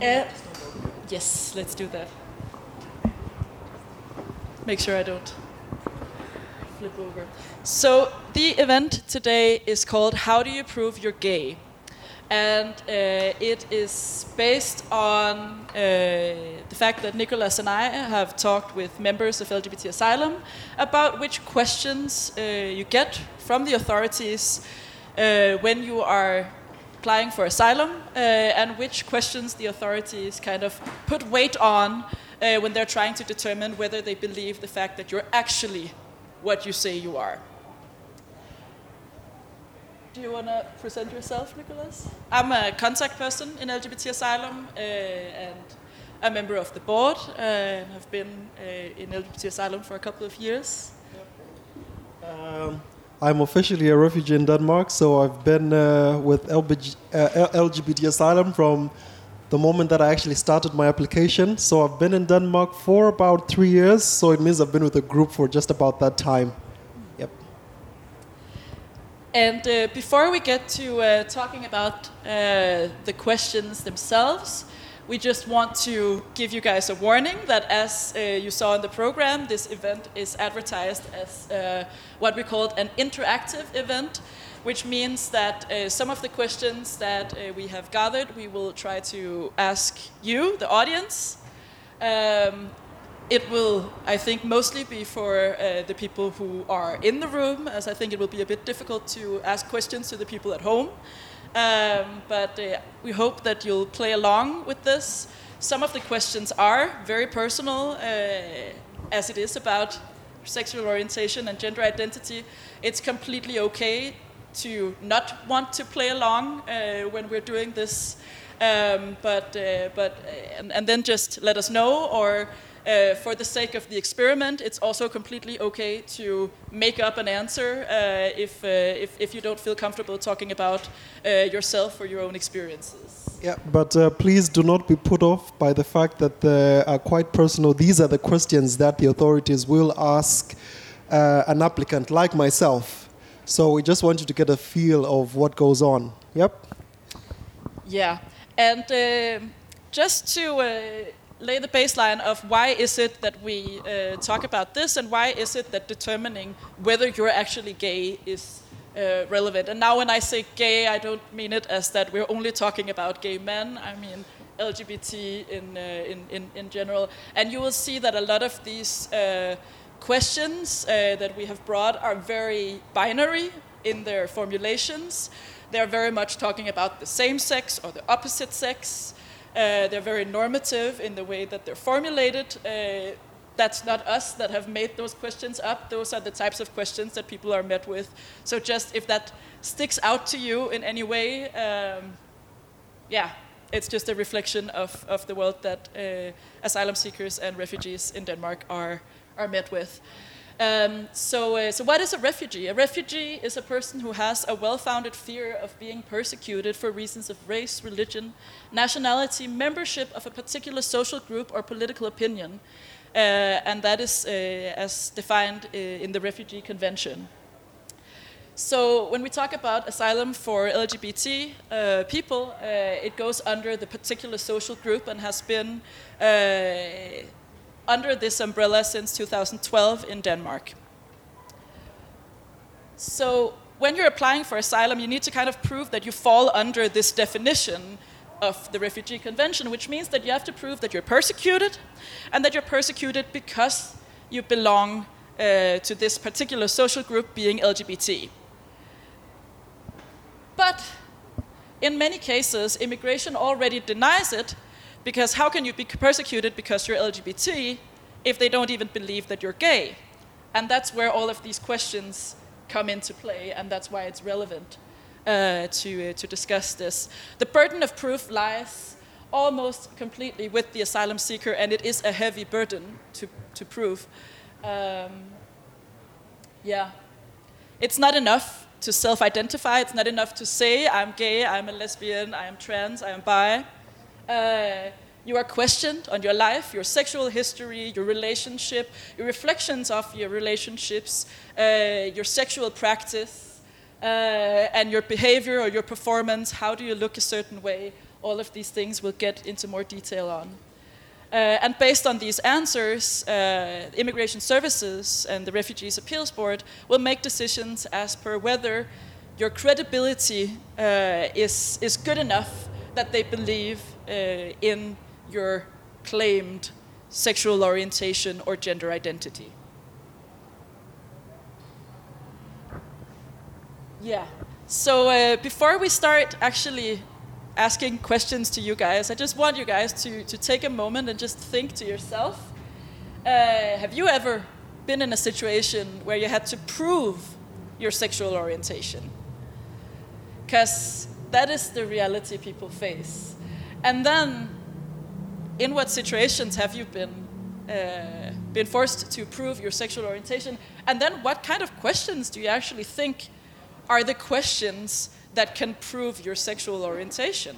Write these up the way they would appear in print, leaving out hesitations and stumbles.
Yes, let's do that. Make sure I don't flip over. So the event today is called How Do You Prove You're Gay? And it is based on the fact that Nicholas and I have talked with members of LGBT Asylum about which questions you get from the authorities when you are applying for asylum and which questions the authorities kind of put weight on when they're trying to determine whether they believe the fact that you're actually what you say you are. Do you want to present yourself, Nicholas? I'm a contact person in LGBT Asylum and a member of the board and have been in LGBT Asylum for a couple of years. I'm officially a refugee in Denmark, so I've been with LGBT Asylum from the moment that I actually started my application. So I've been in Denmark for about 3 years, so it means I've been with a group for just about that time. Yep. And before we get to talking about the questions themselves, we just want to give you guys a warning that as you saw in the program, this event is advertised as what we called an interactive event, which means that some of the questions that we have gathered, we will try to ask you, the audience. It will, I think, mostly be for the people who are in the room, as I think it will be a bit difficult to ask questions to the people at home. But we hope that you'll play along with this. Some of the questions are very personal, as it is about sexual orientation and gender identity. It's completely okay to not want to play along when we're doing this, and then just let us know, or for the sake of the experiment, it's also completely okay to make up an answer if you don't feel comfortable talking about yourself or your own experiences. Yeah, but please do not be put off by the fact that they are quite personal. These are the questions that the authorities will ask an applicant like myself. So we just want you to get a feel of what goes on. Yep. Yeah, and just to lay the baseline of why is it that we talk about this, and why is it that determining whether you're actually gay is relevant. And now when I say gay, I don't mean it as that we're only talking about gay men. I mean LGBT in general. And you will see that a lot of these questions that we have brought are very binary in their formulations. They're very much talking about the same sex or the opposite sex. They're very normative in the way that they're formulated. That's not us that have made those questions up. Those are the types of questions that people are met with. So just if that sticks out to you in any way, it's just a reflection of the world that asylum seekers and refugees in Denmark are met with. So what is a refugee? A refugee is a person who has a well-founded fear of being persecuted for reasons of race, religion, nationality, membership of a particular social group or political opinion. And that is as defined in the Refugee Convention. So when we talk about asylum for LGBT people, it goes under the particular social group and has been under this umbrella since 2012 in Denmark. So when you're applying for asylum, you need to kind of prove that you fall under this definition of the Refugee Convention, which means that you have to prove that you're persecuted, and that you're persecuted because you belong to this particular social group, being LGBT. But in many cases, immigration already denies it, because how can you be persecuted because you're LGBT if they don't even believe that you're gay? And that's where all of these questions come into play, and that's why it's relevant to discuss this. The burden of proof lies almost completely with the asylum seeker, and it is a heavy burden to prove. It's not enough to self-identify. It's not enough to say, I'm gay, I'm a lesbian, I am trans, I am bi. You are questioned on your life, your sexual history, your relationship, your reflections of your relationships, your sexual practice, and your behavior or your performance. How do you look a certain way? all of these things we'll get into more detail on. And based on these answers, Immigration Services and the Refugees Appeals Board will make decisions as per whether your credibility is good enough that they believe in your claimed sexual orientation or gender identity. Yeah. So before we start actually asking questions to you guys, I just want you guys to take a moment and just think to yourself, have you ever been in a situation where you had to prove your sexual orientation? Because that is the reality people face. And then, in what situations have you been forced to prove your sexual orientation? And then what kind of questions do you actually think are the questions that can prove your sexual orientation?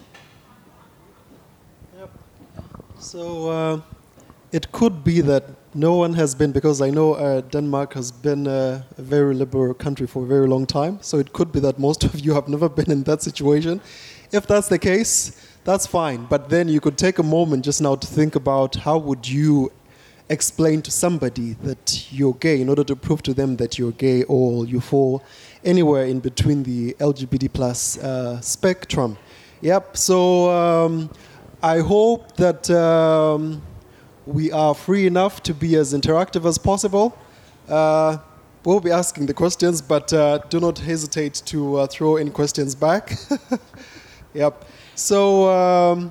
Yep. So it could be that no one has been, because I know Denmark has been a very liberal country for a very long time, so it could be that most of you have never been in that situation. If that's the case, that's fine. But then you could take a moment just now to think about how would you explain to somebody that you're gay in order to prove to them that you're gay or you fall anywhere in between the LGBT plus spectrum. Yep, so I hope that we are free enough to be as interactive as possible. We'll be asking the questions, but do not hesitate to throw any questions back. Yep, so...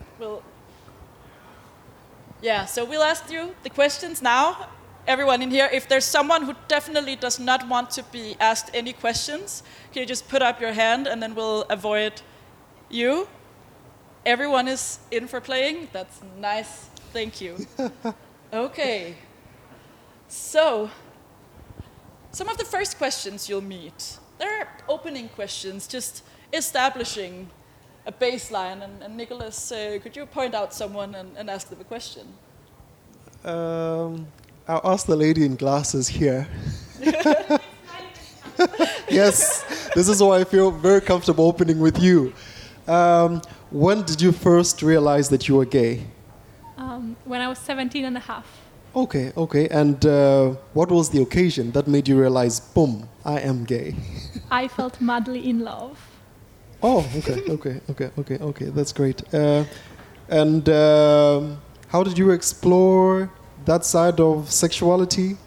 So we'll ask you the questions now. Everyone in here, if there's someone who definitely does not want to be asked any questions, can you just put up your hand and then we'll avoid you? Everyone is in for playing? That's nice. Thank you. Okay. So, some of the first questions you'll meet, they're opening questions, just establishing a baseline. And Nicholas, could you point out someone and ask them a question? I'll ask the lady in glasses here. Yes, this is why I feel very comfortable opening with you. When did you first realize that you were gay? When I was 17 and a half. Okay. And what was the occasion that made you realize, boom, I am gay? I felt madly in love. Oh, okay. That's great. And how did you explore that side of sexuality?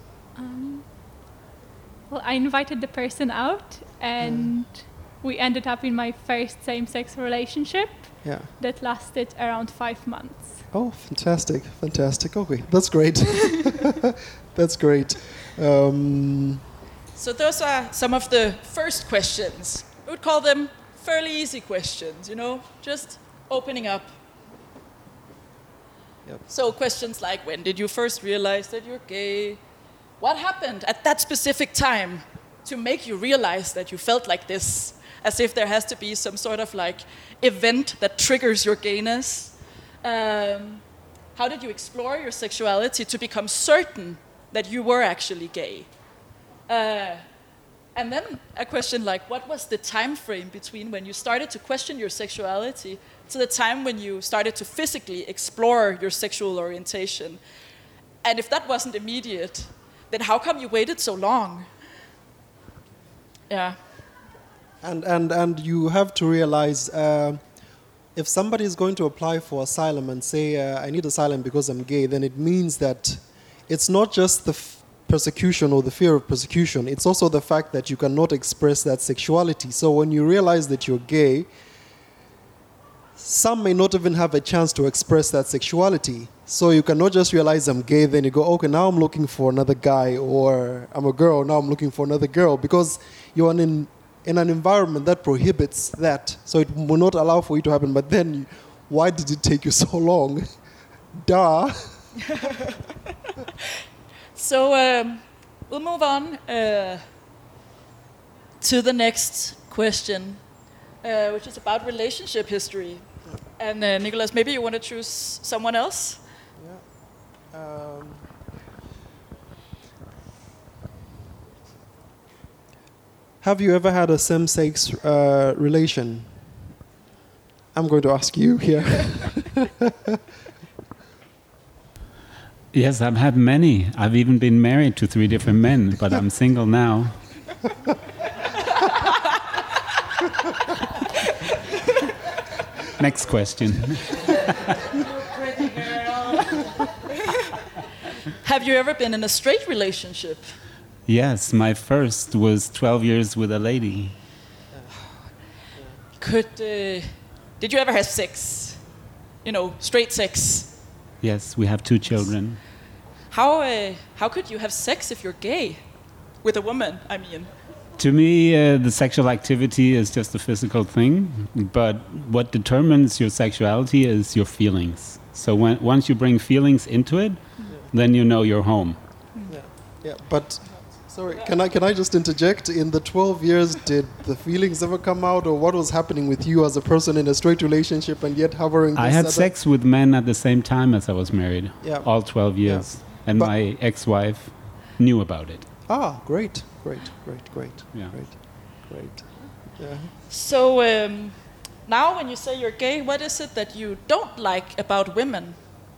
Well, I invited the person out, and we ended up in my first same-sex relationship that lasted around 5 months. Oh, fantastic. Okay, that's great. That's great. So those are some of the first questions. We would call them fairly easy questions, just opening up. Yep. So questions like, when did you first realize that you're gay? What happened at that specific time to make you realize that you felt like this? As if there has to be some sort of event that triggers your gayness. How did you explore your sexuality to become certain that you were actually gay? And then a question like, what was the time frame between when you started to question your sexuality to the time when you started to physically explore your sexual orientation? And if that wasn't immediate, then how come you waited so long? Yeah. And you have to realize, if somebody is going to apply for asylum and say, I need asylum because I'm gay, then it means that it's not just the persecution or the fear of persecution, it's also the fact that you cannot express that sexuality. So when you realize that you're gay, some may not even have a chance to express that sexuality. So you cannot just realize I'm gay, then you go, okay, now I'm looking for another guy, or I'm a girl, now I'm looking for another girl, because you're in an environment that prohibits that. So it will not allow for you to happen. But then, why did it take you so long? Duh. So we'll move on to the next question, which is about relationship history. And Nicholas, maybe you want to choose someone else? Yeah. Have you ever had a same-sex relation? I'm going to ask you here. Yes, I've had many. I've even been married to 3 different men, but I'm single now. Next question. Pretty girl. Have you ever been in a straight relationship? Yes, my first was 12 years with a lady. Did you ever have sex? You know, straight sex? Yes, we have 2 children. How could you have sex if you're gay? With a woman, I mean. To me, the sexual activity is just a physical thing, but what determines your sexuality is your feelings. So once you bring feelings into it, then you know you're home. Yeah, but sorry, can I just interject? In the 12 years, did the feelings ever come out, or what was happening with you as a person in a straight relationship and yet hovering? I had sex with men at the same time as I was married, all 12 years, and my ex-wife knew about it. Ah, great. Yeah. Great. Yeah. So now when you say you're gay, what is it that you don't like about women?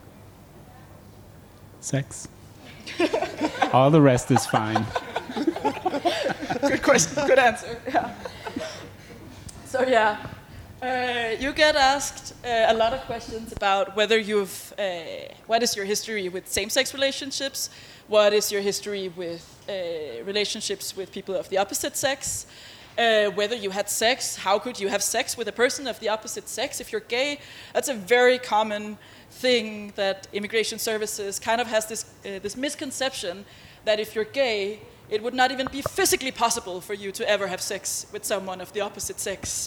Sex. All the rest is fine. Good question, good answer. Yeah. So you get asked a lot of questions about whether what is your history with same-sex relationships, what is your history with relationships with people of the opposite sex, whether you had sex, how could you have sex with a person of the opposite sex if you're gay. That's a very common thing that immigration services kind of has this misconception that if you're gay, it would not even be physically possible for you to ever have sex with someone of the opposite sex.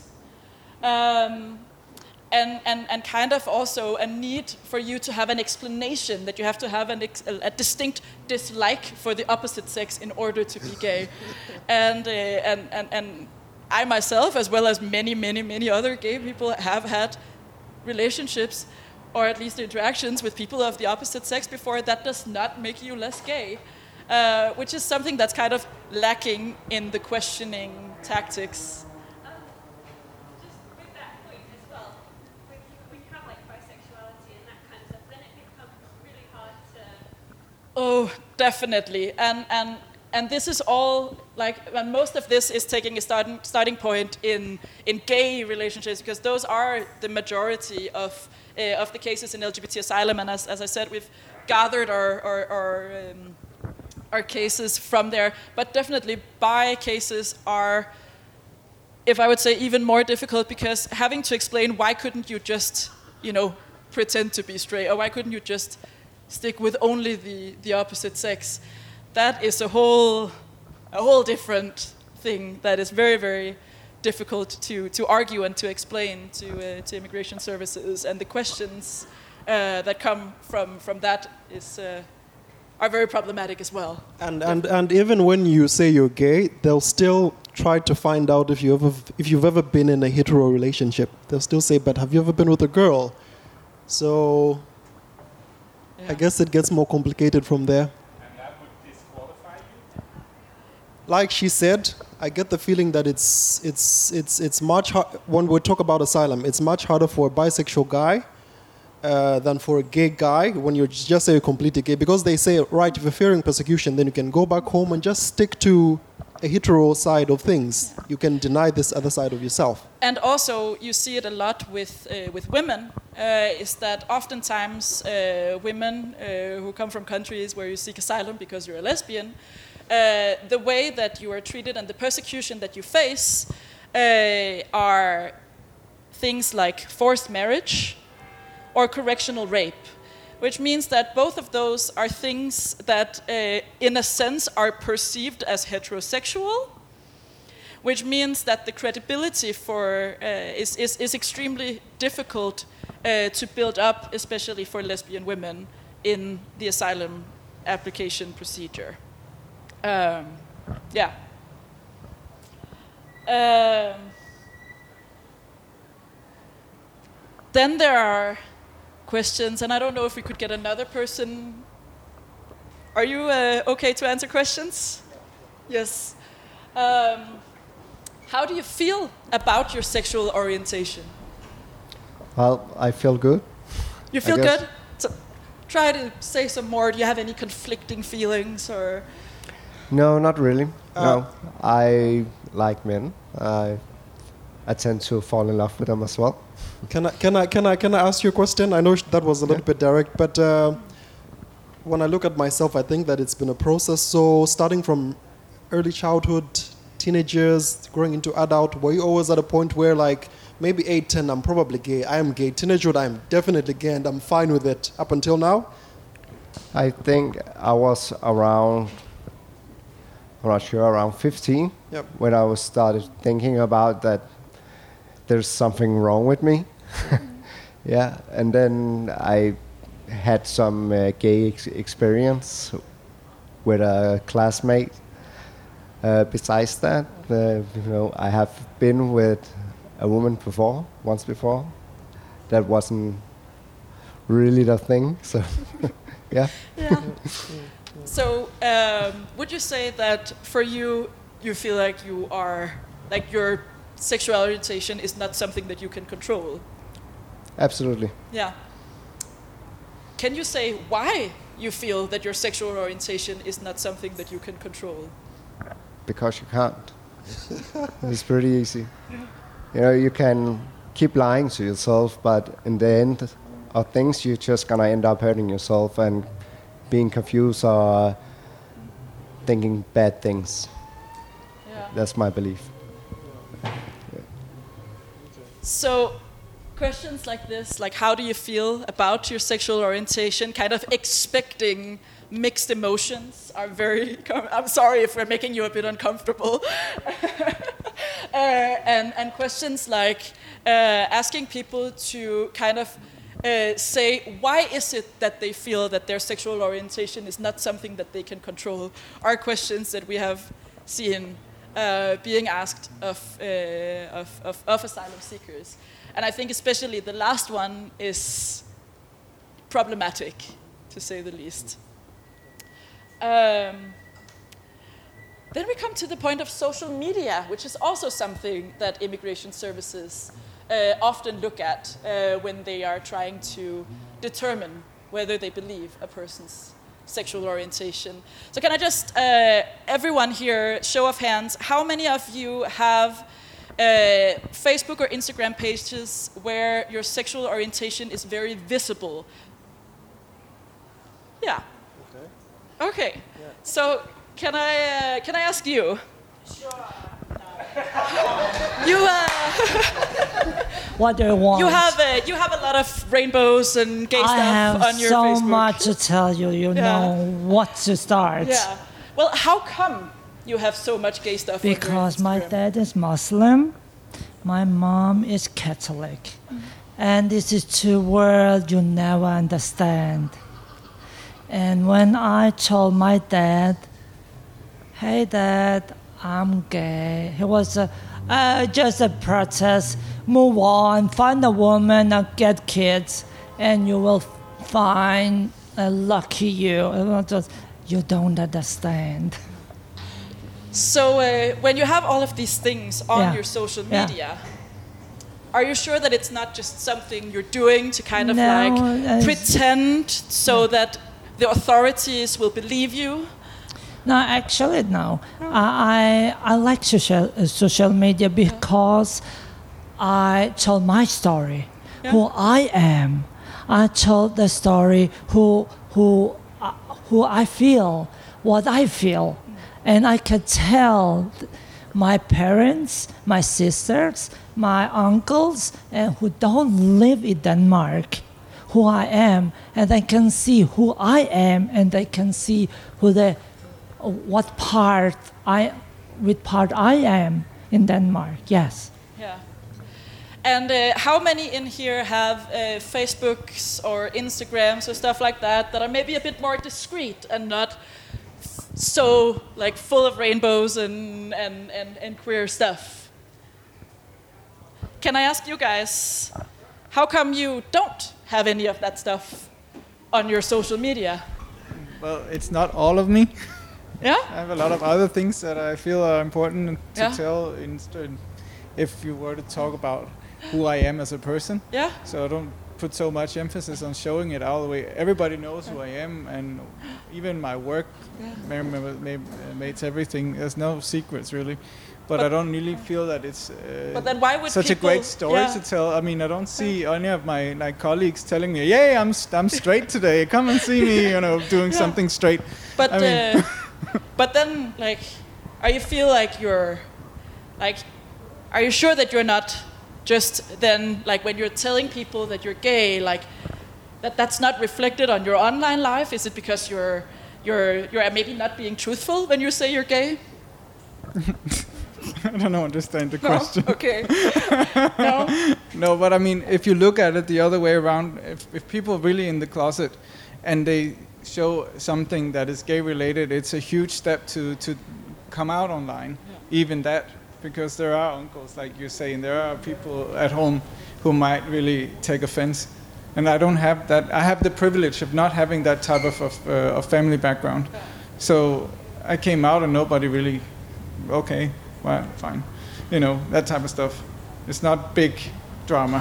And kind of also a need for you to have an explanation, that you have to have a distinct dislike for the opposite sex in order to be gay. And I myself, as well as many other gay people, have had relationships, or at least interactions with people of the opposite sex before. That does not make you less gay, which is something that's kind of lacking in the questioning tactics. Oh, definitely, and this is all and most of this is taking a starting point in gay relationships, because those are the majority of the cases in LGBT asylum, and as I said, we've gathered our cases from there. But definitely, bi cases are, if I would say, even more difficult, because having to explain why couldn't you just pretend to be straight, or why couldn't you just stick with only the opposite sex, that is a whole different thing that is very, very difficult to argue and to explain to immigration services, and the questions that come from that are very problematic as well. And even when you say you're gay, they'll still try to find out if you've ever been in a hetero relationship. They'll still say, but have you ever been with a girl? So I guess it gets more complicated from there. And that would disqualify you? Like she said, I get the feeling that it's much hard, when we talk about asylum, it's much harder for a bisexual guy than for a gay guy when you just say you're completely gay, because they say, right, if you're fearing persecution, then you can go back home and just stick to a hetero side of things. You can deny this other side of yourself. And also, you see it a lot with women, is that oftentimes women who come from countries where you seek asylum because you're a lesbian, the way that you are treated and the persecution that you face are things like forced marriage or correctional rape, which means that both of those are things that, in a sense, are perceived as heterosexual, which means that the credibility for is extremely difficult to build up, especially for lesbian women in the asylum application procedure. Then there are questions, and I don't know if we could get another person. Are you okay to answer questions? Yes. How do you feel about your sexual orientation? Well, I feel good. You feel good? So try to say some more. Do you have any conflicting feelings or? No, not really. No, I like men. I tend to fall in love with them as well. Can I ask you a question? I know that was a little bit direct, but when I look at myself, I think that it's been a process. So starting from early childhood, teenage years, growing into adult, were you always at a point where like maybe 8, 10, I'm probably gay, I am gay. Teenagehood, I'm definitely gay and I'm fine with it up until now? I think I was around, I'm not sure, around 15 when I was started thinking about that there's something wrong with me. Yeah, and then I had some gay experience with a classmate. Besides that, I have been with a woman once before. That wasn't really the thing, so yeah. So would you say that for you, you feel like you are, like your sexual orientation is not something that you can control? Absolutely. Yeah. Can you say why you feel that your sexual orientation is not something that you can control? Because you can't. It's pretty easy. You can keep lying to yourself, but in the end of things, you're just gonna end up hurting yourself and being confused or thinking bad things. Yeah. That's my belief. So questions like this, like how do you feel about your sexual orientation, kind of expecting mixed emotions, are very, I'm sorry if we're making you a bit uncomfortable. And questions like asking people to kind of say, why is it that they feel that their sexual orientation is not something that they can control, are questions that we have seen being asked of asylum seekers. And I think especially the last one is problematic, to say the least. Then we come to the point of social media, which is also something that immigration services often look at when they are trying to determine whether they believe a person's sexual orientation. So can I just, everyone here, show of hands, how many of you have Facebook or Instagram pages where your sexual orientation is very visible? Yeah. Okay. Yeah. So can I ask you? Sure. You what do you want? You have a lot of rainbows and gay stuff on your Facebook. I have so much to tell you. You know what to start. Yeah. Well, how come you have so much gay stuff? Because my dad is Muslim, my mom is Catholic, and this is two worlds you never understand. And when I told my dad, "Hey, Dad, I'm gay," he was just a protest. Move on, find a woman and get kids, and you will find a lucky you. You don't understand. So when you have all of these things on your social media, are you sure that it's not just something you're doing to kind of pretend so that the authorities will believe you? No, actually, no. I like social media because I told my story, who I am. I told the story who I feel, what I feel, and I can tell my parents, my sisters, my uncles, and who don't live in Denmark, who I am, and they can see who I am, and they can see what part I am in Denmark. Yes. Yeah. And how many in here have Facebooks or Instagrams or stuff like that are maybe a bit more discreet and not so like full of rainbows and queer stuff? Can I ask you guys, how come you don't have any of that stuff on your social media? Well, it's not all of me. Yeah? I have a lot of other things that I feel are important to tell if you were to talk about who I am as a person. Yeah. So I don't put so much emphasis on showing it all the way. Everybody knows who I am, and even my work, mates, everything. There's no secrets really. But I don't really feel that it's but then why would such a great story to tell. I mean, I don't see any of my colleagues telling me, "Yay, I'm straight today. Come and see me," doing something straight. But but then, like, are you feel like you're, like, are you sure that you're not just then, like, when you're telling people that you're gay, like, that's not reflected on your online life? Is it because you're maybe not being truthful when you say you're gay? I don't understand the question. Okay. No? No, but I mean, if you look at it the other way around, if people are really in the closet and they show something that is gay related, it's a huge step to come out online. Yeah. Even that, because there are uncles, like you're saying, there are people at home who might really take offense. And I don't have that. I have the privilege of not having that type of family background. Yeah. So I came out and nobody really, okay. Well, fine. That type of stuff. It's not big drama,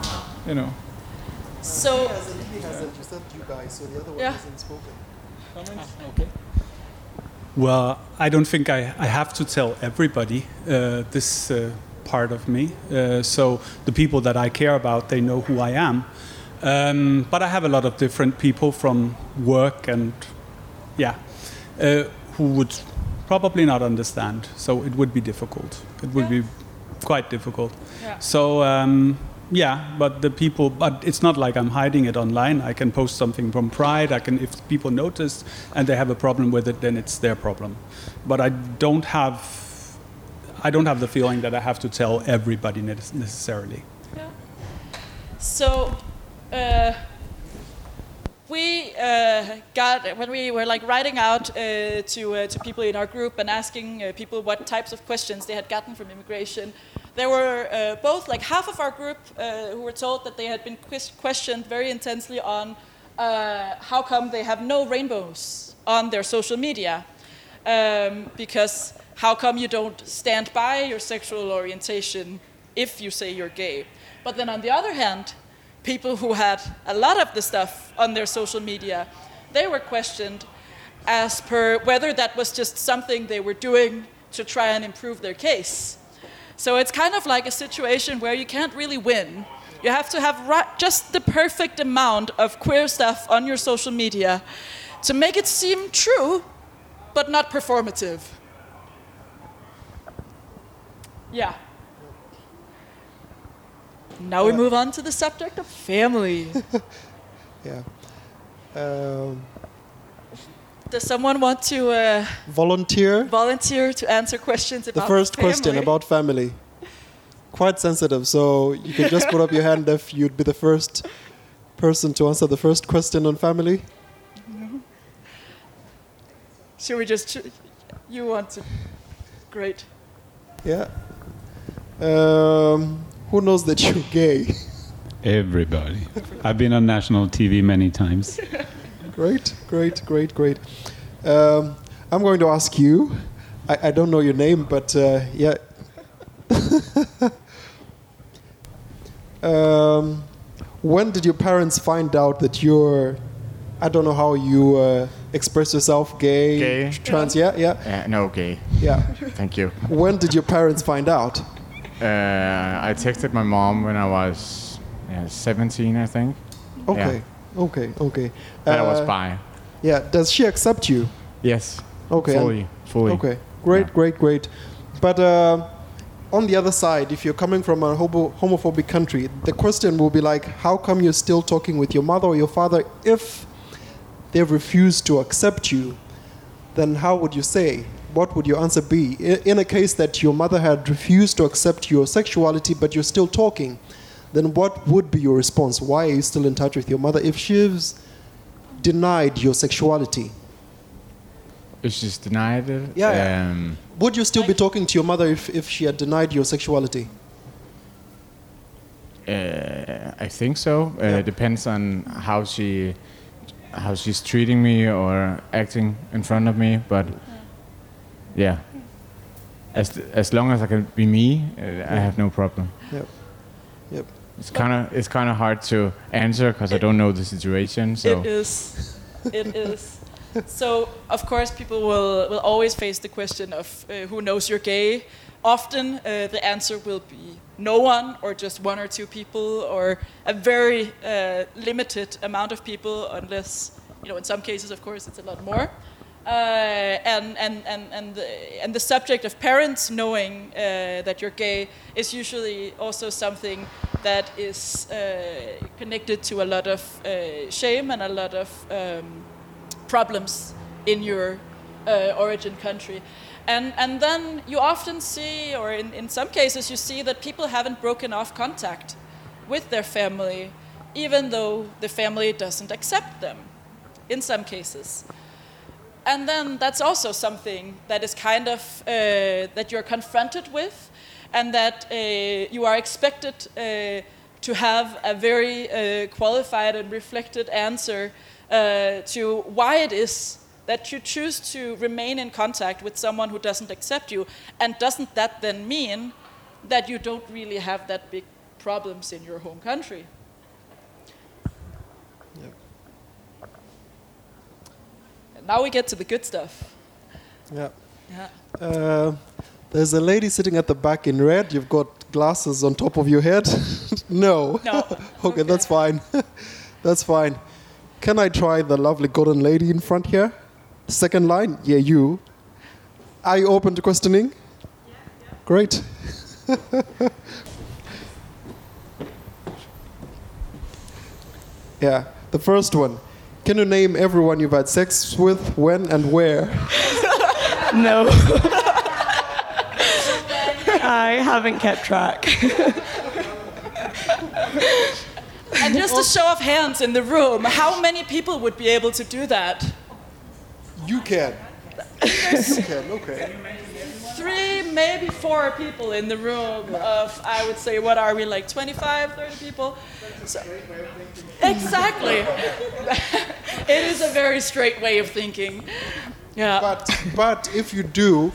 So... He hasn't. You said you guys, so the other one hasn't spoken. Comments? Okay. Well, I don't think I have to tell everybody this part of me. So the people that I care about, they know who I am. But I have a lot of different people from work and, who would probably not understand, so it would be difficult. It would be quite difficult. Yeah. So but it's not like I'm hiding it online. I can post something from Pride. If people notice and they have a problem with it, then it's their problem. But I don't have the feeling that I have to tell everybody necessarily. Yeah. So. We got, when we were like writing out to people in our group and asking people what types of questions they had gotten from immigration, there were both like half of our group who were told that they had been questioned very intensely on how come they have no rainbows on their social media, because how come you don't stand by your sexual orientation if you say you're gay. But then on the other hand, people who had a lot of the stuff on their social media, they were questioned as per whether that was just something they were doing to try and improve their case. So it's kind of like a situation where you can't really win. You have to have just the perfect amount of queer stuff on your social media to make it seem true, but not performative. Yeah. Now we move on to the subject of family. Yeah. Does someone want to volunteer to answer questions about the first family? question about family? Quite sensitive, so you can just put up your hand if you'd be the first person to answer the first question on family. No. Should we just... You want to... Great. Yeah. Who knows that you're gay? Everybody. I've been on national TV many times. Great. I'm going to ask you. I don't know your name, but yeah. When did your parents find out that you're... I don't know how you express yourself, gay, trans, yeah? No, gay. Yeah. Thank you. When did your parents find out? I texted my mom when I was 17, I think. Okay. That I was bi. Yeah. Does she accept you? Yes. Okay. Fully. Okay. Great. But on the other side, if you're coming from a homophobic country, the question will be like, how come you're still talking with your mother or your father if they've refused to accept you? Then how would you say? What would your answer be? In a case that your mother had refused to accept your sexuality, but you're still talking, then what would be your response? Why are you still in touch with your mother if she's denied your sexuality? If she's denied it? Yeah. Would you still be talking to your mother if she had denied your sexuality? I think so. It depends on how she's treating me or acting in front of me, but yeah. As long as I can be me, I have no problem. Yep. It's kind of hard to answer because I don't know the situation. So it is. It is. So of course people will always face the question of who knows you're gay. Often the answer will be no one, or just one or two people, or a very limited amount of people, unless, in some cases, of course, it's a lot more. And the subject of parents knowing that you're gay is usually also something that is connected to a lot of shame and a lot of problems in your origin country. And then you often see, or in some cases you see, that people haven't broken off contact with their family, even though the family doesn't accept them, in some cases. And then that's also something that is kind of, that you're confronted with, and that you are expected to have a very qualified and reflected answer to why it is that you choose to remain in contact with someone who doesn't accept you. And doesn't that then mean that you don't really have that big problems in your home country? Yep. And now we get to the good stuff. Yeah. Yeah. There's a lady sitting at the back in red. You've got glasses on top of your head. No. Okay, that's fine. That's fine. Can I try the lovely golden lady in front here? Second line? Yeah, you. Are you open to questioning? Yeah. Great. Yeah, the first one. Can you name everyone you've had sex with, when and where? No. I haven't kept track. And just a show of hands in the room, how many people would be able to do that? You can. You can, okay. 3, maybe 4 people in the room of, I would say, what are we, like 25, 30 people? So, exactly. It is a very straight way of thinking. Yeah. But if you do,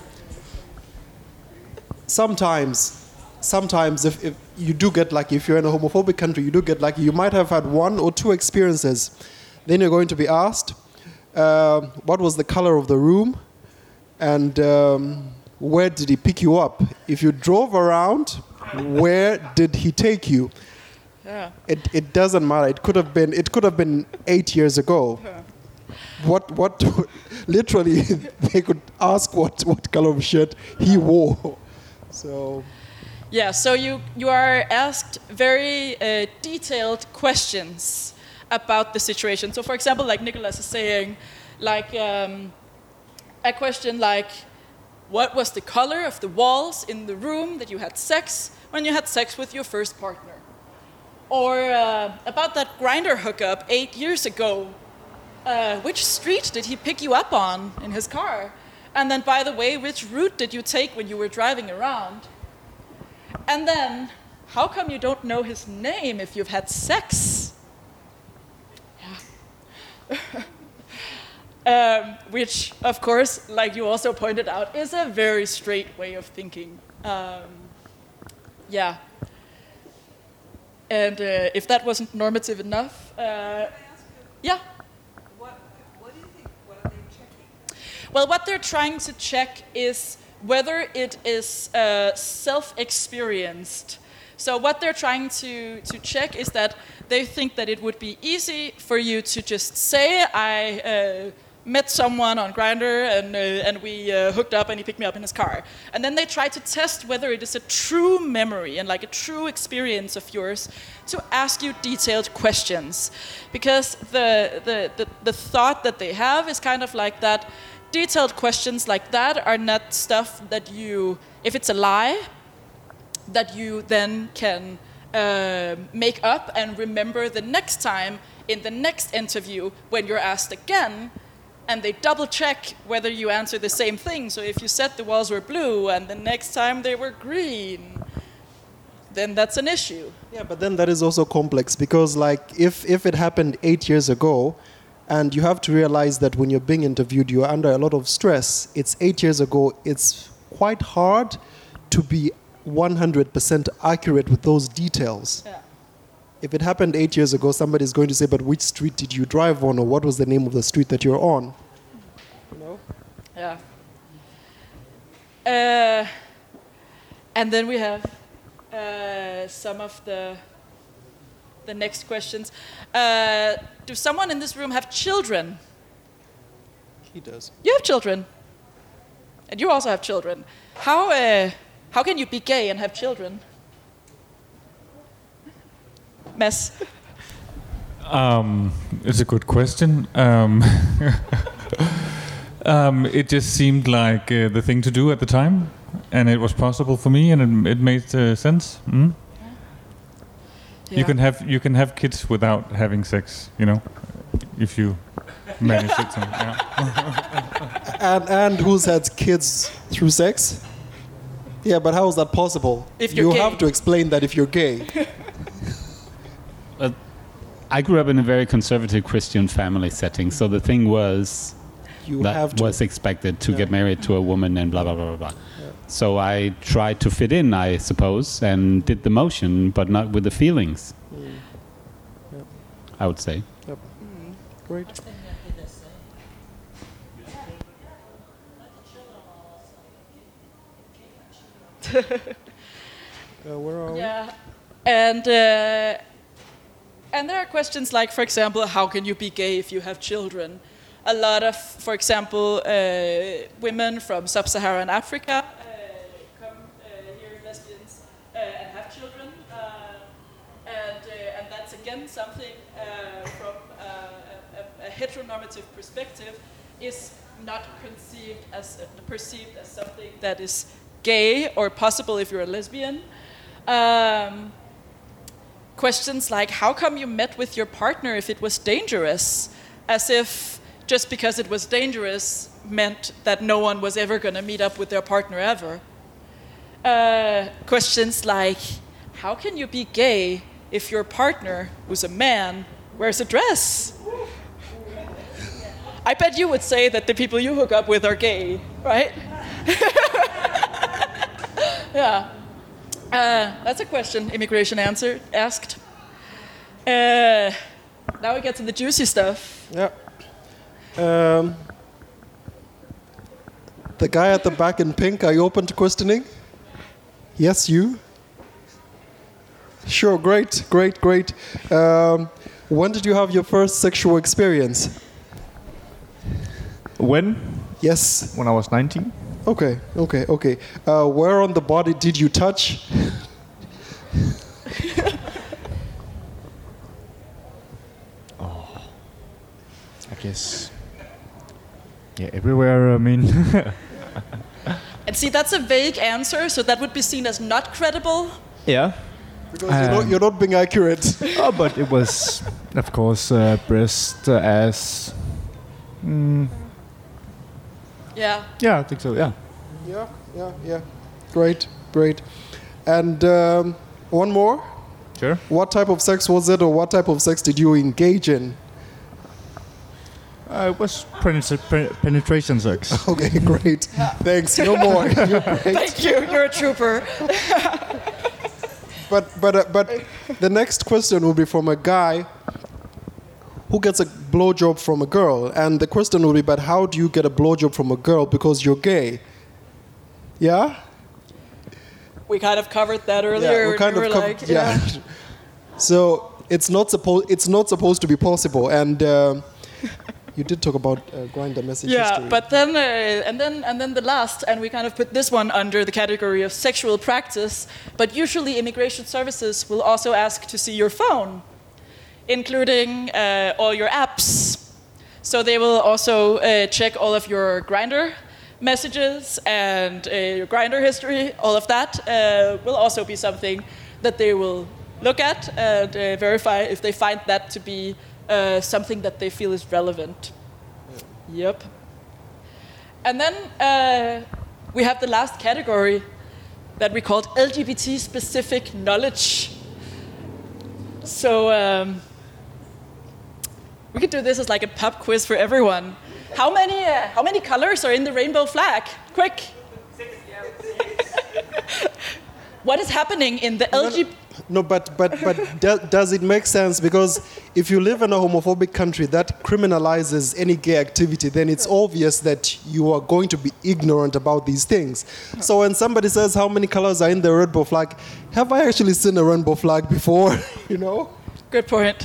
sometimes if you do get lucky, if you're in a homophobic country, you do get lucky. You might have had 1 or 2 experiences. Then you're going to be asked, what was the color of the room? And where did he pick you up? If you drove around, where did he take you? Yeah. It doesn't matter. It could have been 8 years ago. Yeah. What literally they could ask what color of shirt he wore. So yeah, so you are asked very detailed questions about the situation. So for example, like Nicholas is saying, like a question like, what was the color of the walls in the room that you had sex when you had sex with your first partner? Or about that Grindr hookup 8 years ago, which street did he pick you up on in his car? And then, by the way, which route did you take when you were driving around? And then, how come you don't know his name if you've had sex? Yeah. Which, of course, like you also pointed out, is a very straight way of thinking. Yeah. And if that wasn't normative enough, yeah. What do you think? What are they checking? Well, what they're trying to check is whether it is self-experienced. So what they're trying to check is that they think that it would be easy for you to just say, I met someone on Grindr and we hooked up and he picked me up in his car. And then they try to test whether it is a true memory and like a true experience of yours to ask you detailed questions. Because the thought that they have is kind of like that detailed questions like that are not stuff that you, if it's a lie, that you then can make up and remember the next time in the next interview when you're asked again, and they double check whether you answer the same thing. So if you said the walls were blue and the next time they were green, then that's an issue. Yeah, but then that is also complex because like if it happened 8 years ago, and you have to realize that when you're being interviewed, you're under a lot of stress. It's 8 years ago. It's quite hard to be 100% accurate with those details. Yeah. If it happened 8 years ago, somebody's going to say, but which street did you drive on, or what was the name of the street that you're on? You know? Yeah. And then we have some of the next questions. Do someone in this room have children? He does. You have children. And you also have children. How can you be gay and have children? Mads? It's a good question. It just seemed like the thing to do at the time, and it was possible for me, and it made sense. Mm? Yeah. You can have kids without having sex, you know, if you manage it. Yeah. And who's had kids through sex? Yeah, but how is that possible? If you're you gay. have to explain that if you're gay. I grew up in a very conservative Christian family setting, so the thing was was expected to get married to a woman and blah blah blah blah blah. Yeah. So I tried to fit in, I suppose, and did the motion, but not with the feelings. Yep. I would say. Yep. Great. Where are we? Yeah, and there are questions like, for example, how can you be gay if you have children? A lot of, for example, women from sub-Saharan Africa come here, lesbians, and have children, and that's again something from a heteronormative perspective is not perceived as something that is gay or possible if you're a lesbian. Questions like, how come you met with your partner if it was dangerous? As if just because it was dangerous meant that no one was ever going to meet up with their partner ever. Questions like, how can you be gay if your partner, who's a man, wears a dress? I bet you would say that the people you hook up with are gay, right? Yeah. That's a question immigration asked. Now we get to the juicy stuff. Yeah. The guy at the back in pink, are you open to questioning? Yes, you? Sure, great. When did you have your first sexual experience? When? Yes. When I was 19. Okay. Where on the body did you touch? I guess. Yeah, everywhere, I mean. And see, that's a vague answer, so that would be seen as not credible. Yeah. Because you're not being accurate. Oh, but it was, of course, breast, ass. Yeah. Yeah, I think so, yeah. Yeah. Great. And one more? Sure. What type of sex was it, or what type of sex did you engage in? It was penetration sex. Okay, great. Thanks. No more. You're great. Thank you. You're a trooper. But the next question will be from a guy who gets a blowjob from a girl, and the question will be, but how do you get a blowjob from a girl because you're gay? Yeah? We kind of covered that earlier. Yeah, we kind of covered. Yeah. So it's not supposed to be possible, and you did talk about Grindr message history. Yeah, but then and then the last, and we kind of put this one under the category of sexual practice. But usually, immigration services will also ask to see your phone, including all your apps. So they will also check all of your Grindr messages and your Grindr history. All of that will also be something that they will look at and verify if they find that to be something that they feel is relevant. Yep. And then we have the last category that we called LGBT-specific knowledge. So we could do this as like a pub quiz for everyone. How many colors are in the rainbow flag? Quick. what is happening in the LGBT... No, but does it make sense? Because if you live in a homophobic country that criminalizes any gay activity, then it's obvious that you are going to be ignorant about these things. So when somebody says how many colors are in the rainbow flag, have I actually seen a rainbow flag before? You know? Good point.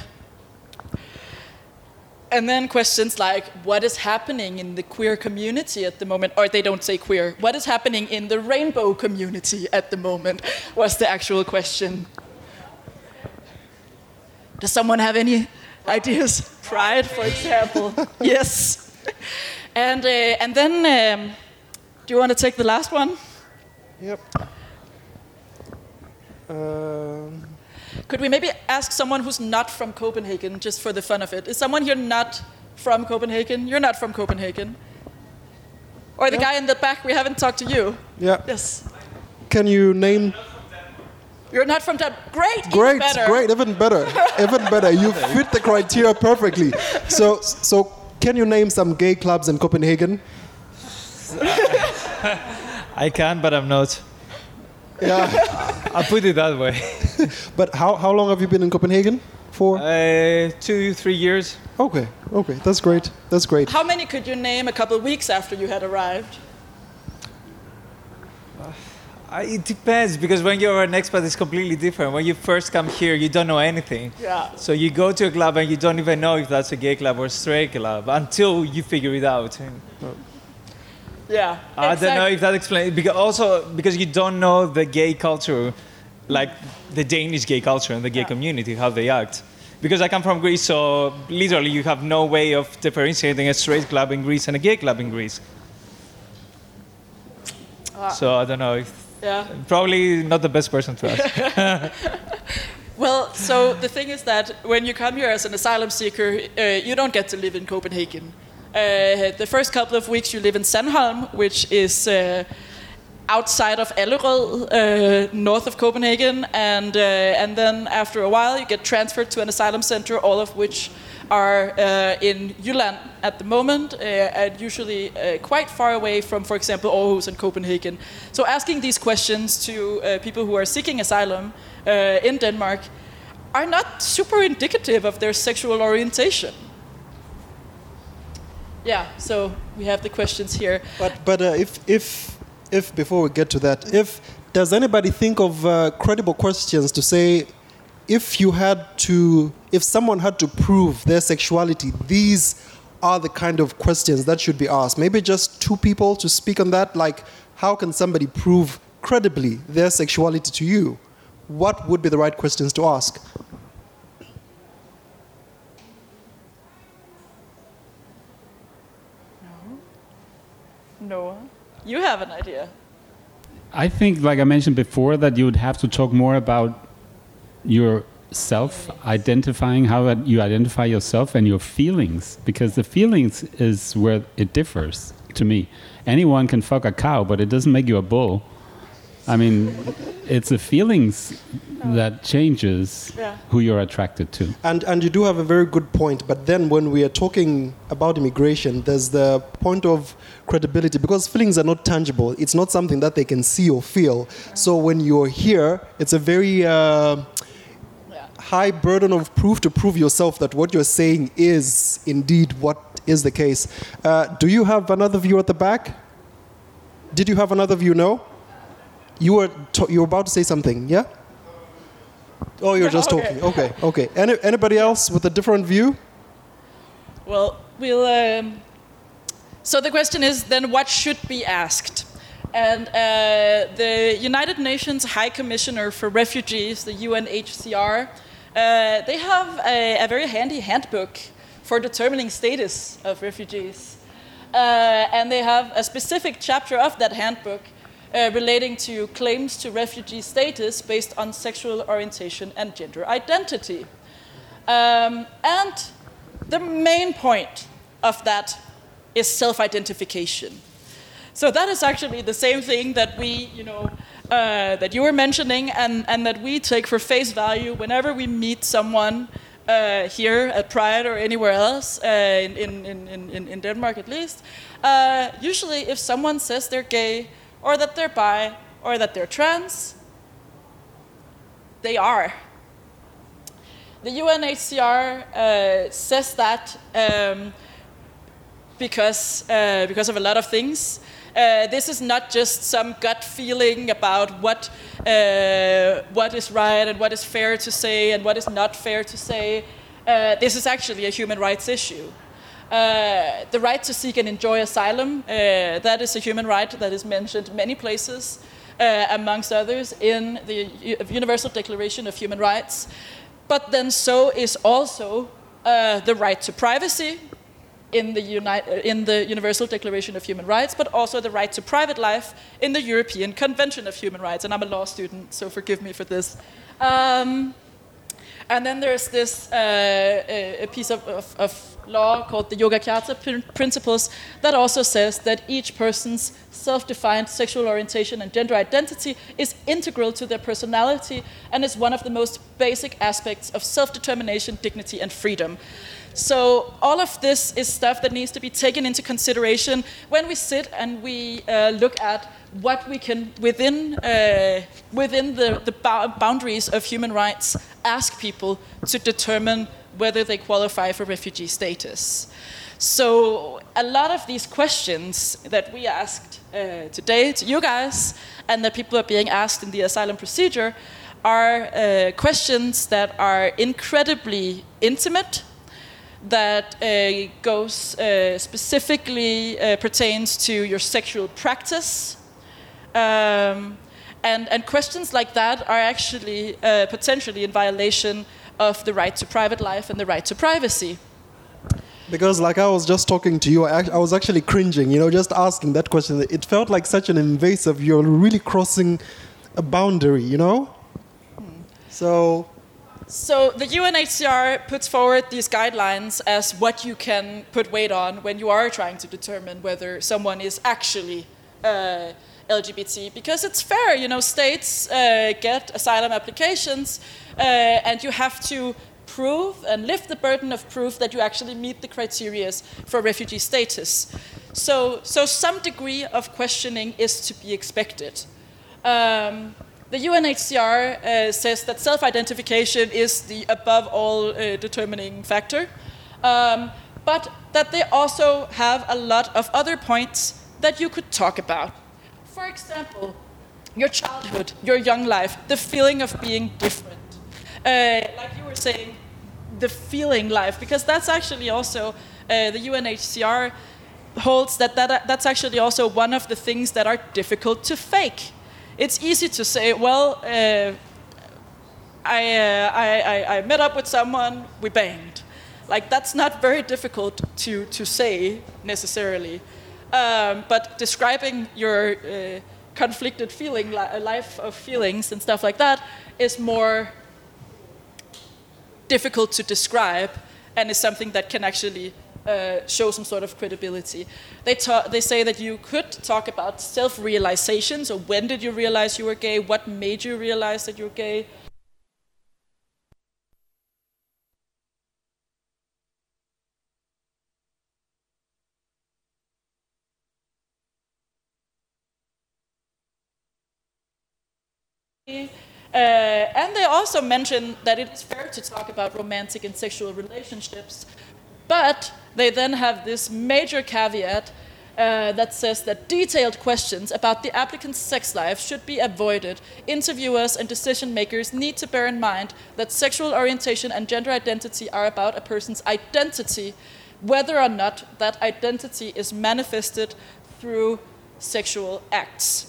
And then questions like, what is happening in the queer community at the moment? Or they don't say queer. What is happening in the rainbow community at the moment was the actual question. Does someone have any ideas? Pride, for example. Yes. And then, do you want to take the last one? Yep. Could we maybe ask someone who's not from Copenhagen, just for the fun of it? Is someone here not from Copenhagen? You're not from Copenhagen. Or the guy in the back, we haven't talked to you. Yeah. Yes. Can you name... You're not from Denmark. Great, great, even better. Great, even better. Even better. You fit the criteria perfectly. So can you name some gay clubs in Copenhagen? I can, but I'm not. Yeah. I'll put it that way. But how long have you been in Copenhagen for? 2-3 years. Okay, that's great. That's great. How many could you name a couple of weeks after you had arrived? It depends, because when you're an expat, it's completely different. When you first come here, you don't know anything. Yeah. So you go to a club and you don't even know if that's a gay club or a straight club until you figure it out. Yeah. I don't know if that explains. Because you don't know the gay culture, like the Danish gay culture and the gay community, how they act. Because I come from Greece, so literally you have no way of differentiating a straight club in Greece and a gay club in Greece. So I don't know if... Yeah. Probably not the best person to ask. Well, so the thing is that when you come here as an asylum seeker, you don't get to live in Copenhagen. The first couple of weeks you live in Sandholm, which is outside of Allerød, north of Copenhagen, and then after a while you get transferred to an asylum center, all of which are in Jylland at the moment, and usually quite far away from, for example, Aarhus and Copenhagen. So asking these questions to people who are seeking asylum in Denmark are not super indicative of their sexual orientation. Yeah, so we have the questions here. But if before we get to that, does anybody think of credible questions to say, if someone had to prove their sexuality, these are the kind of questions that should be asked? Maybe just two people to speak on that. Like, how can somebody prove credibly their sexuality to you? What would be the right questions to ask? No. You have an idea. I think, like I mentioned before, that you would have to talk more about yourself, identifying how you identify yourself and your feelings, because the feelings is where it differs to me. Anyone can fuck a cow, but it doesn't make you a bull. I mean, it's the feelings that changes who you're attracted to. And you do have a very good point, but then when we are talking about immigration, there's the point of credibility, because feelings are not tangible. It's not something that they can see or feel. So when you're here, it's a very high burden of proof to prove yourself that what you're saying is indeed what is the case. Do you have another view at the back? Did you have another view? No? You were about to say something, yeah? Oh, you're just talking. Okay. Anybody else with a different view? Well, so the question is then, what should be asked? And the United Nations High Commissioner for Refugees, the UNHCR, they have a very handy handbook for determining status of refugees. And they have a specific chapter of that handbook relating to claims to refugee status based on sexual orientation and gender identity. And the main point of that is self-identification. So that is actually the same thing that we, that you were mentioning, and that we take for face value whenever we meet someone here at Pride or anywhere else, in Denmark at least. Usually if someone says they're gay, or that they're bi, or that they're trans, they are. The UNHCR says that because of a lot of things. This is not just some gut feeling about what is right and what is fair to say and what is not fair to say. This is actually a human rights issue. The right to seek and enjoy asylum, that is a human right that is mentioned many places, amongst others in the Universal Declaration of Human Rights. But then so is also the right to privacy, in the Universal Declaration of Human Rights, but also the right to private life in the European Convention of Human Rights. And I'm a law student, so forgive me for this. And then there's this a piece of law called the Yogyakarta Principles that also says that each person's self-defined sexual orientation and gender identity is integral to their personality and is one of the most basic aspects of self-determination, dignity, and freedom. So all of this is stuff that needs to be taken into consideration when we sit and we look at what we can, within the boundaries of human rights, ask people to determine whether they qualify for refugee status. So a lot of these questions that we asked today to you guys and that people are being asked in the asylum procedure are questions that are incredibly intimate, that goes specifically pertains to your sexual practice. And questions like that are actually potentially in violation of the right to private life and the right to privacy. Because like I was just talking to you, I was actually cringing, just asking that question. It felt like such an invasive, you're really crossing a boundary, So the UNHCR puts forward these guidelines as what you can put weight on when you are trying to determine whether someone is actually LGBT. Because it's fair, states get asylum applications and you have to prove and lift the burden of proof that you actually meet the criteria for refugee status. So some degree of questioning is to be expected. The UNHCR says that self-identification is the above all determining factor, but that they also have a lot of other points that you could talk about. For example, your childhood, your young life, the feeling of being different. Like you were saying, the feeling life, because that's actually also, the UNHCR holds that's actually also one of the things that are difficult to fake. It's easy to say, well, I met up with someone, we banged. Like, that's not very difficult to say, necessarily. But describing your conflicted feeling, life of feelings and stuff like that is more difficult to describe and is something that can actually show some sort of credibility. They say that you could talk about self-realization. So when did you realize you were gay? What made you realize that you're gay? And they also mention that it's fair to talk about romantic and sexual relationships, but they then have this major caveat that says that detailed questions about the applicant's sex life should be avoided. Interviewers and decision makers need to bear in mind that sexual orientation and gender identity are about a person's identity, whether or not that identity is manifested through sexual acts.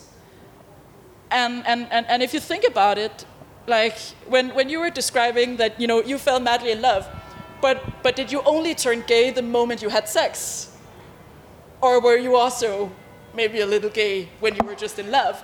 And if you think about it, like when you were describing that, you fell madly in love, but did you only turn gay the moment you had sex? Or were you also maybe a little gay when you were just in love?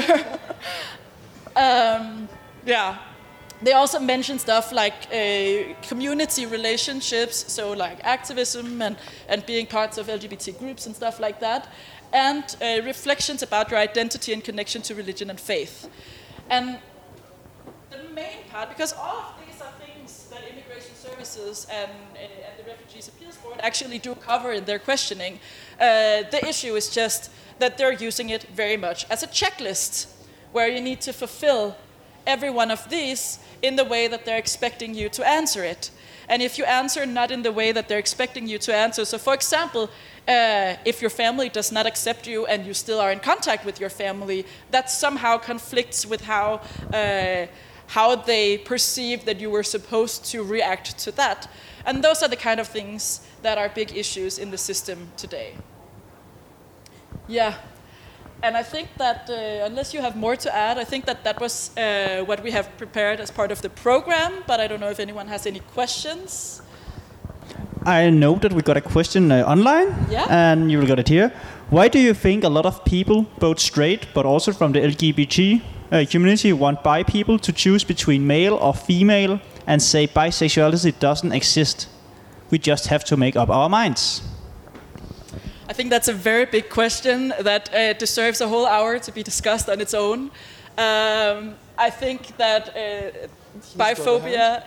Yeah. They also mention stuff like community relationships, so like activism and being parts of LGBT groups and stuff like that, and reflections about your identity in connection to religion and faith. And the main part, because all of these are things that Immigration Services and the Refugees Appeals Board actually do cover in their questioning, the issue is just that they're using it very much as a checklist, where you need to fulfill every one of these in the way that they're expecting you to answer it. And if you answer not in the way that they're expecting you to answer, so for example, if your family does not accept you and you still are in contact with your family, that somehow conflicts with how they perceive that you were supposed to react to that. And those are the kind of things that are big issues in the system today. Yeah. And I think that, unless you have more to add, I think that was what we have prepared as part of the program, but I don't know if anyone has any questions. I know that we got a question online, and you will get it here. Why do you think a lot of people, both straight but also from the LGBT community, want bi people to choose between male or female and say bisexuality doesn't exist? We just have to make up our minds. I think that's a very big question that deserves a whole hour to be discussed on its own. I think that biphobia,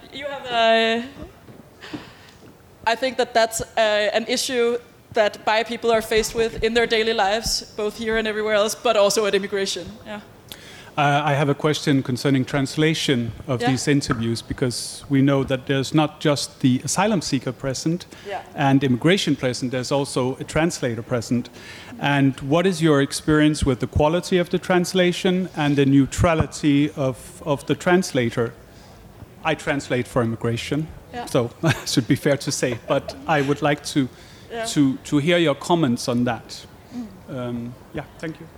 I think that that's an issue that bi people are faced with in their daily lives, both here and everywhere else, but also at immigration. Yeah. I have a question concerning translation of these interviews, because we know that there's not just the asylum seeker present and immigration present, there's also a translator present. And what is your experience with the quality of the translation and the neutrality of the translator? I translate for immigration, so it should be fair to say, but I would like to hear your comments on that. Thank you.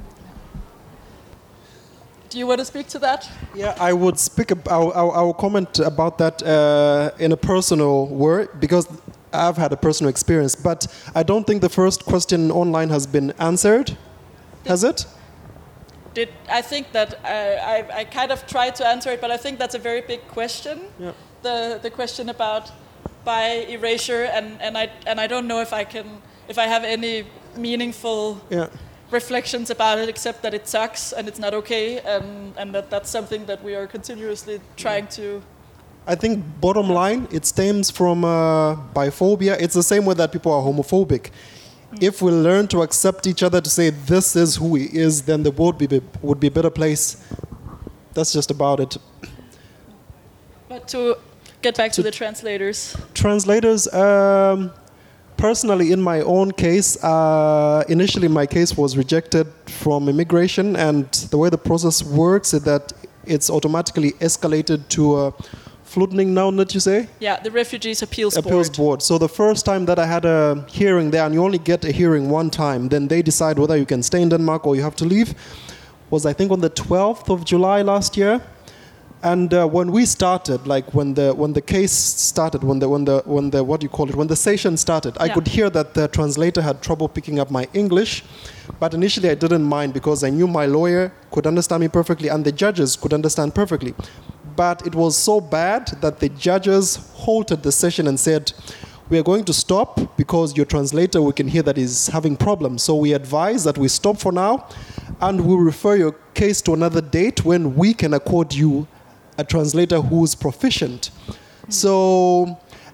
Do you want to speak to that? Yeah, I would speak about, I will comment about that in a personal word, because I've had a personal experience. But I don't think the first question online has been answered. Has it? I think that I kind of tried to answer it, but I think that's a very big question. Yeah. The question about bi erasure, and I don't know if I have any meaningful reflections about it, except that it sucks and it's not okay, and that's something that we are continuously trying to. I think bottom line, it stems from biphobia. It's the same way that people are homophobic. If we learn to accept each other, to say this is who he is, then the world would be a better place. That's just about it. But to get back to the translators. Translators, personally, in my own case, initially my case was rejected from immigration, and the way the process works is that it's automatically escalated to Flygtningenævnet, that you say? Yeah, the Refugees Appeals Board. So the first time that I had a hearing there, and you only get a hearing one time, then they decide whether you can stay in Denmark or you have to leave, was I think on the 12th of July last year. And when we started, like when the case started, when the session started, I could hear that the translator had trouble picking up my English, but initially I didn't mind because I knew my lawyer could understand me perfectly and the judges could understand perfectly. But it was so bad that the judges halted the session and said, "We are going to stop because your translator, we can hear that is having problems. So we advise that we stop for now, and we'll refer your case to another date when we can accord you a translator who is proficient." So,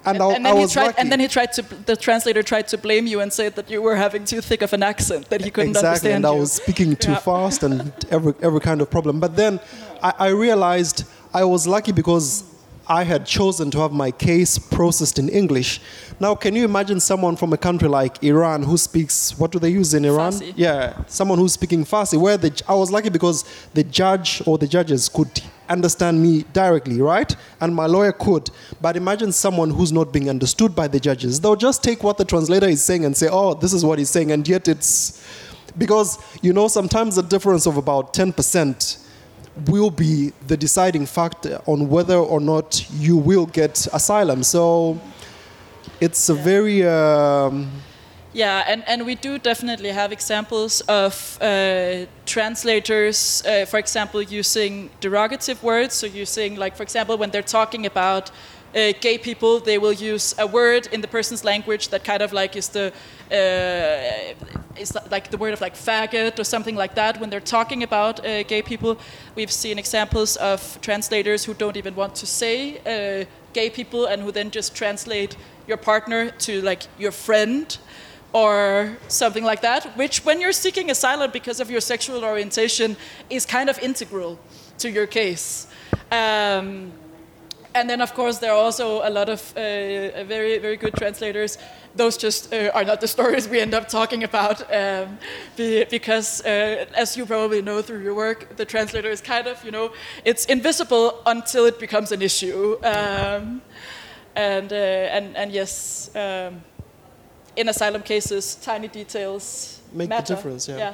the translator tried to blame you and said that you were having too thick of an accent, that he couldn't understand and you. I was speaking too fast and every kind of problem. But then I realized I was lucky because I had chosen to have my case processed in English. Now, can you imagine someone from a country like Iran who speaks, what do they use in Iran? Farsi. Yeah, someone who's speaking Farsi. I was lucky because the judge or the judges could understand me directly, right? And my lawyer could. But imagine someone who's not being understood by the judges. They'll just take what the translator is saying and say, "Oh, this is what he's saying," and yet it's... Because, sometimes a difference of about 10% will be the deciding factor on whether or not you will get asylum. So it's a very... and we do definitely have examples of translators, for example, using derogative words. So using, like, for example, when they're talking about gay people, they will use a word in the person's language that kind of like is like the word of like faggot or something like that when they're talking about gay people. We've seen examples of translators who don't even want to say gay people and who then just translate your partner to like your friend or something like that, which when you're seeking asylum because of your sexual orientation is kind of integral to your case. And then, of course, there are also a lot of very, very good translators. Those just are not the stories we end up talking about, because, as you probably know through your work, the translator is kind of, it's invisible until it becomes an issue. And yes, in asylum cases, tiny details make matter. the difference. Yeah.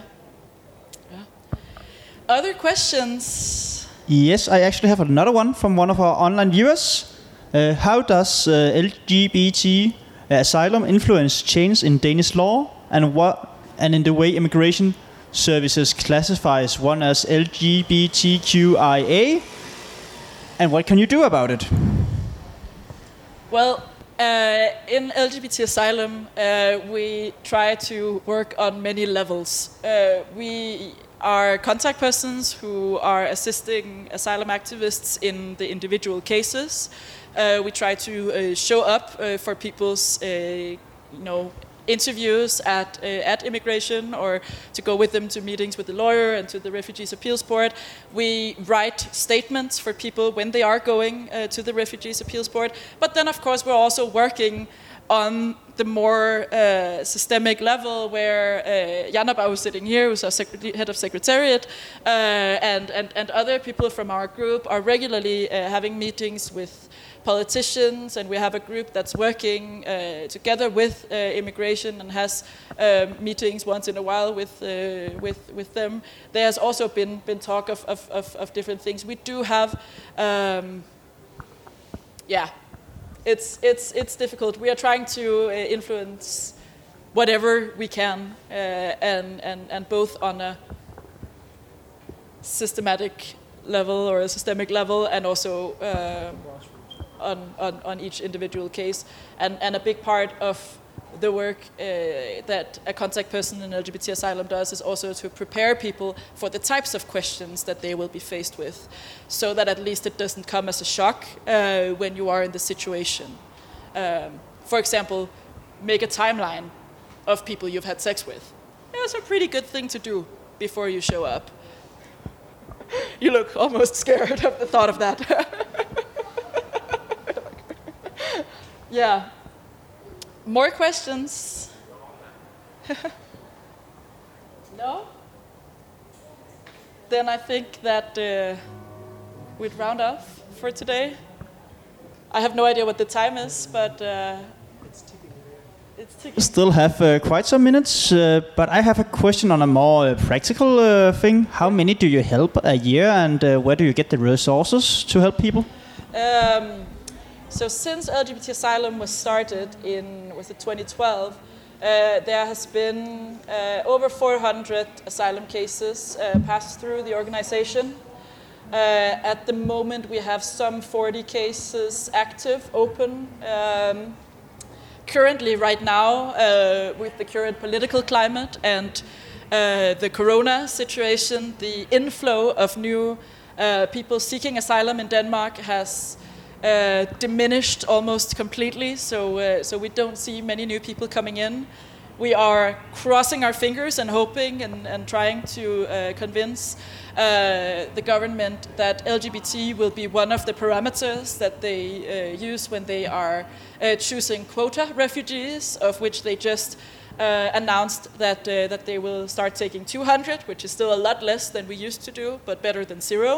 Other questions? Yes, I actually have another one from one of our online viewers. How does LGBT asylum influence change in Danish law, and in the way immigration services classifies one as LGBTQIA, and what can you do about it? Well, in LGBT asylum, we try to work on many levels. We are contact persons who are assisting asylum activists in the individual cases. We try to show up for people's, interviews at immigration, or to go with them to meetings with the lawyer and to the Refugees Appeals Board. We write statements for people when they are going to the Refugees Appeals Board. But then, of course, we're also working on the more systemic level, where Janaba, who's sitting here, who's our head of secretariat, and other people from our group are regularly having meetings with politicians, and we have a group that's working together with immigration and has meetings once in a while with them. There has also been talk of different things. We do have, it's difficult. We are trying to influence whatever we can, and both on a systematic level or a systemic level, and also on each individual case. And a big part of the work that a contact person in LGBT asylum does is also to prepare people for the types of questions that they will be faced with, so that at least it doesn't come as a shock when you are in the situation. For example, make a timeline of people you've had sex with. It's a pretty good thing to do before you show up. You look almost scared of the thought of that. Yeah. More questions? No? Then I think that we'd round off for today. I have no idea what the time is, but it's ticking. Still have quite some minutes, but I have a question on a more practical thing. How many do you help a year, and where do you get the resources to help people? So since LGBT Asylum was started in 2012, there has been over 400 asylum cases passed through the organization. At the moment, we have some 40 cases active, open. Currently, right now, with the current political climate and the corona situation, the inflow of new people seeking asylum in Denmark has diminished almost completely, so we don't see many new people coming in. We are crossing our fingers and hoping and trying to convince the government that LGBT will be one of the parameters that they use when they are choosing quota refugees, of which they just announced that they will start taking 200, which is still a lot less than we used to do, but better than 0.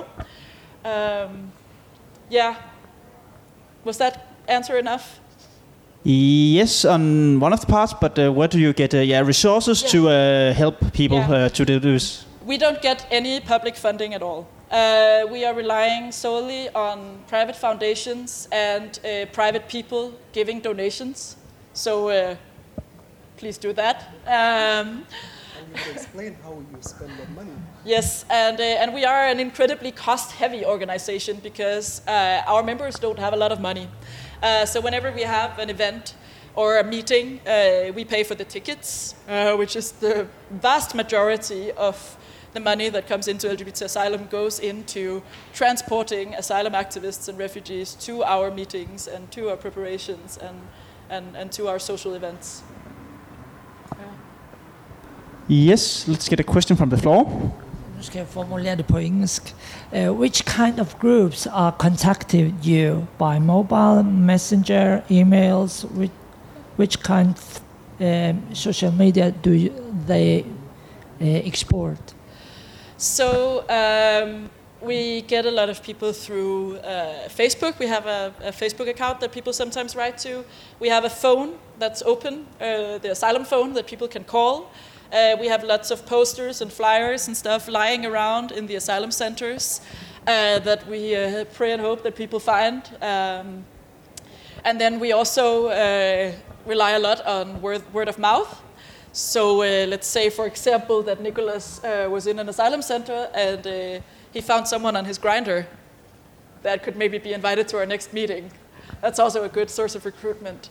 Was that answer enough? Yes, on one of the parts, but where do you get resources to help people to do this? We don't get any public funding at all. We are relying solely on private foundations and private people giving donations. So please do that. You can explain how you spend that money. Yes, and we are an incredibly cost-heavy organization because our members don't have a lot of money. So whenever we have an event or a meeting, we pay for the tickets, which is the vast majority of the money that comes into LGBT Asylum goes into transporting asylum activists and refugees to our meetings and to our preparations and to our social events. Yes, let's get a question from the floor. Nu skal jeg formulere det på engelsk. Which kind of groups are contacting you by mobile, messenger, emails? Which kind of social media do they export? So we get a lot of people through Facebook. We have a Facebook account that people sometimes write to. We have a phone that's open, the asylum phone that people can call. We have lots of posters and flyers and stuff lying around in the asylum centers that we pray and hope that people find. And then we also rely a lot on word of mouth. So let's say, for example, that Nicholas was in an asylum center and he found someone on his Grindr that could maybe be invited to our next meeting. That's also a good source of recruitment.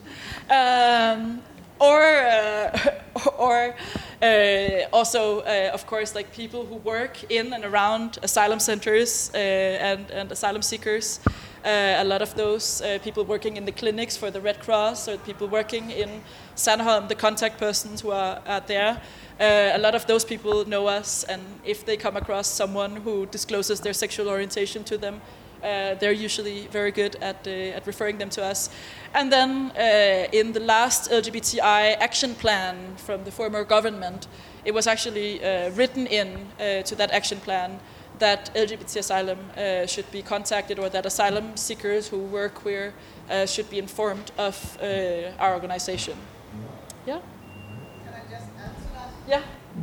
Also, of course, like people who work in and around asylum centers and asylum seekers. A lot of those people working in the clinics for the Red Cross, or people working in Sandholm, the contact persons who are there. A lot of those people know us, and if they come across someone who discloses their sexual orientation to them, they're usually very good at referring them to us. And then in the last LGBTI action plan from the former government, it was actually written in to that action plan that LGBT asylum should be contacted, or that asylum seekers who were queer should be informed of our organization. Yeah? Can I just add to that? Yeah.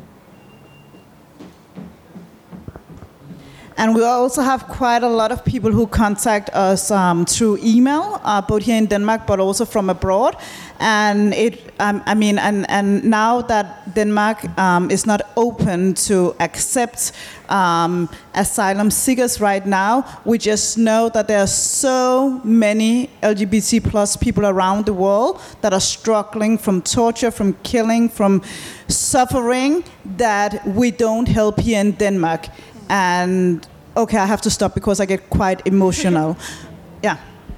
And we also have quite a lot of people who contact us through email, both here in Denmark, but also from abroad. And and now that Denmark is not open to accept asylum seekers right now, we just know that there are so many LGBT plus people around the world that are struggling from torture, from killing, from suffering, that we don't help here in Denmark. And okay, I have to stop because I get quite emotional. Yeah.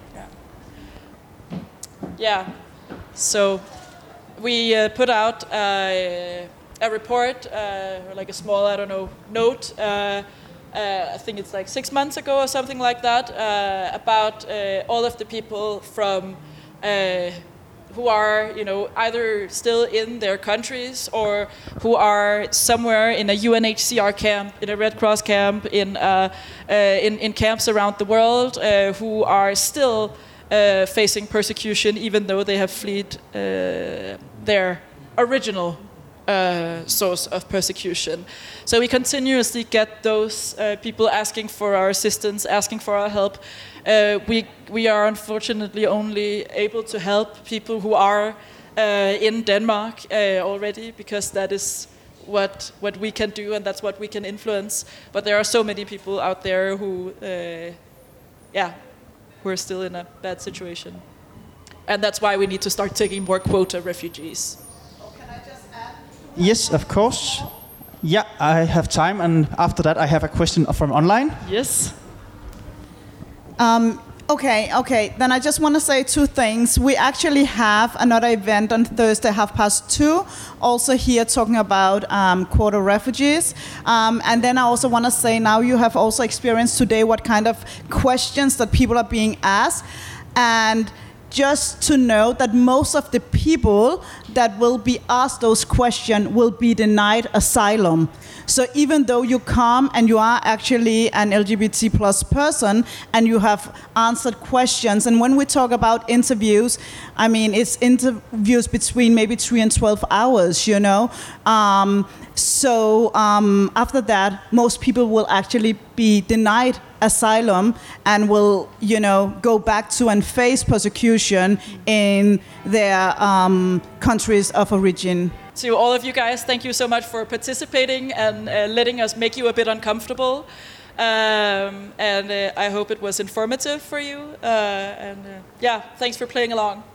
Yeah. So we put out a report, like a small, note. I think it's like 6 months ago or something like that, about all of the people from who are, either still in their countries or who are somewhere in a UNHCR camp, in a Red Cross camp, in camps around the world, who are still facing persecution, even though they have fled their original source of persecution. So we continuously get those people asking for our assistance, asking for our help. We are unfortunately only able to help people who are in Denmark already, because that is what we can do and that's what we can influence. But there are so many people out there who are still in a bad situation. And that's why we need to start taking more quota refugees. Can I just add? Yes, of course. Yeah, I have time, and after that I have a question from online. Yes. Okay. Then I just want to say two things. We actually have another event on Thursday, 2:30, also here talking about quota refugees. And then I also want to say, now you have also experienced today what kind of questions that people are being asked. And just to know that most of the people that will be asked those questions will be denied asylum. So even though you come and you are actually an LGBT plus person and you have answered questions, and when we talk about interviews, I mean, it's interviews between maybe 3 and 12 hours, So after that, most people will actually be denied asylum and will, go back to and face persecution in their countries of origin. To all of you guys, thank you so much for participating and letting us make you a bit uncomfortable. I hope it was informative for you. Thanks for playing along.